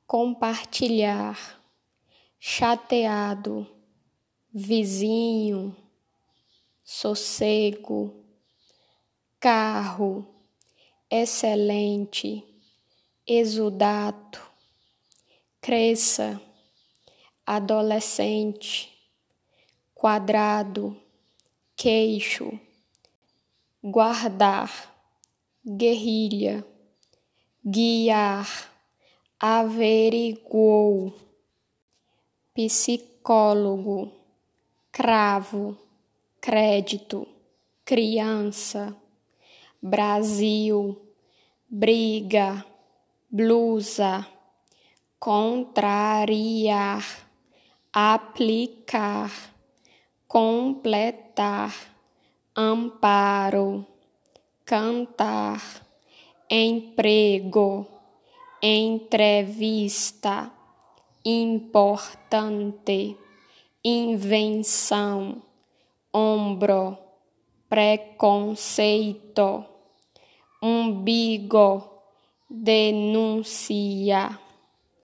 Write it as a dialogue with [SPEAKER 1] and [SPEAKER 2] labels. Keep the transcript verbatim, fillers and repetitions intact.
[SPEAKER 1] compartilhar, chateado, vizinho, sossego, carro, excelente, exudato, cresça, adolescente, quadrado, queixo, guardar, guerrilha, guiar, averiguou, psicólogo, cravo, crédito, criança, Brasil, briga, blusa, contrariar, aplicar, completar, amparo, cantar, emprego, entrevista, importante, invenção, ombro, preconceito, umbigo, denúncia.